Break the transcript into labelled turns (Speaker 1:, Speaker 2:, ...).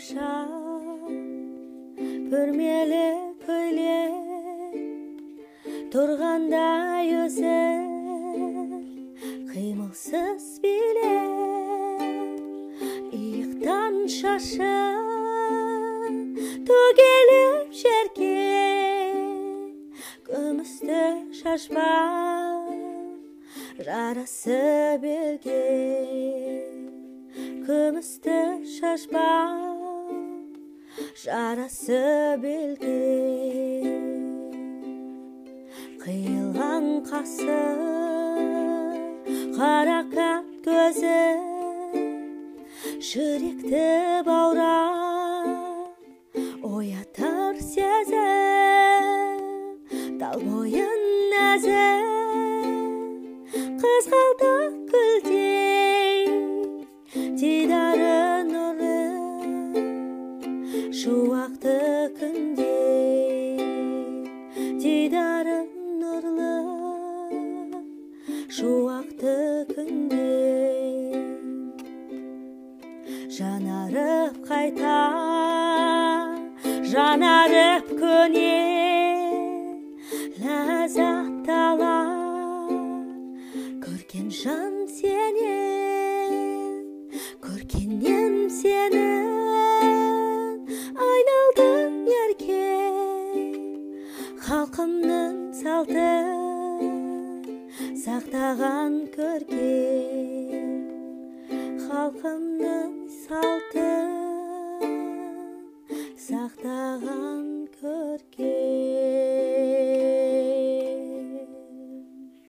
Speaker 1: шапшаң бүрмелі көйлек тұрғандай өзі қимылсыз билеп иықтан шашы төгіліп жерге күмісті шашпа жарасы белге күмісті шашпа жарасы белге қиылған қасы қарақат көзі жүректі баурап оятар сезім тал бойын нәзік қызғалдақ гүлдей дидары нұрлы шуақты күнде дидары нұрлы шуақты күнде жанарып қайта жанарып көне ләззат ала көрген жан сенен көргеннен сенің айналдың еркек халқымның салтын сақтаған көркем халқымның салтын сақтаған көркем